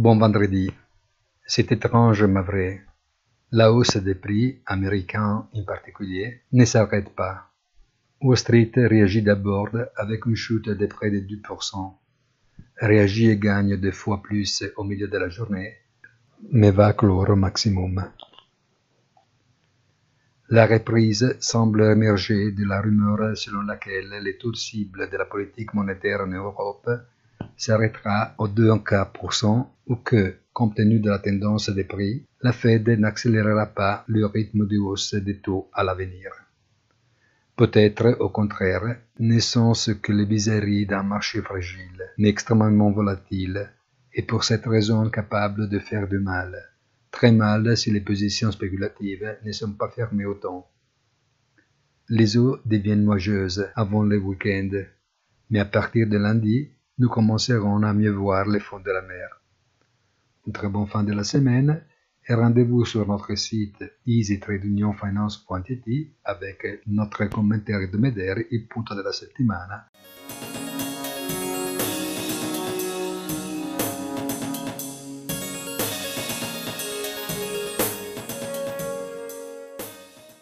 Bon vendredi. C'est étrange mais vrai. La hausse des prix, américains en particulier, ne s'arrête pas. Wall Street réagit d'abord avec une chute de près de 2%, réagit et gagne 2 fois plus au milieu de la journée, mais va clore au maximum. La reprise semble émerger de la rumeur selon laquelle les taux cibles de la politique monétaire en Europe s'arrêtera aux 2,25% ou que, compte tenu de la tendance des prix, la Fed n'accélérera pas le rythme de hausse des taux à l'avenir. Peut-être, au contraire, ne sont-ce que les bizarreries d'un marché fragile, mais extrêmement volatile, et pour cette raison capable de faire du mal. Très mal si les positions spéculatives ne sont pas fermées au temps. Les eaux deviennent nuageuses avant le week-end, mais à partir de lundi, nous commencerons à mieux voir le fond de la mer. Une très bonne fin de la semaine et rendez-vous sur notre site easytradeunionfinance.it avec notre commentaire hebdomadaire, il punto della settimana.